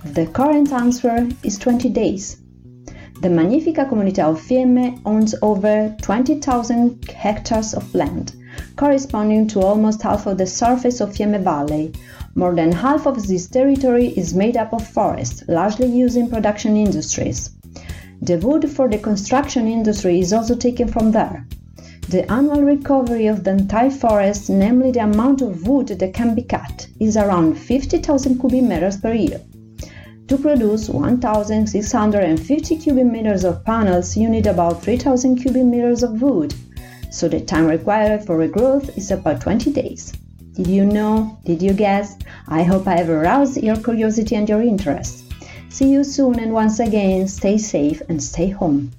The current answer is 20 days. The Magnifica Comunità of Fiemme owns over 20,000 hectares of land, corresponding to almost half of the surface of Fiemme Valley. More than half of this territory is made up of forest, largely used in production industries. The wood for the construction industry is also taken from there. The annual recovery of the entire forest, namely the amount of wood that can be cut, is around 50,000 cubic meters per year. To produce 1,650 cubic meters of panels, you need about 3,000 cubic meters of wood, so the time required for regrowth is about 20 days. Did you know? Did you guess? I hope I have aroused your curiosity and your interest. See you soon, and once again, stay safe and stay home.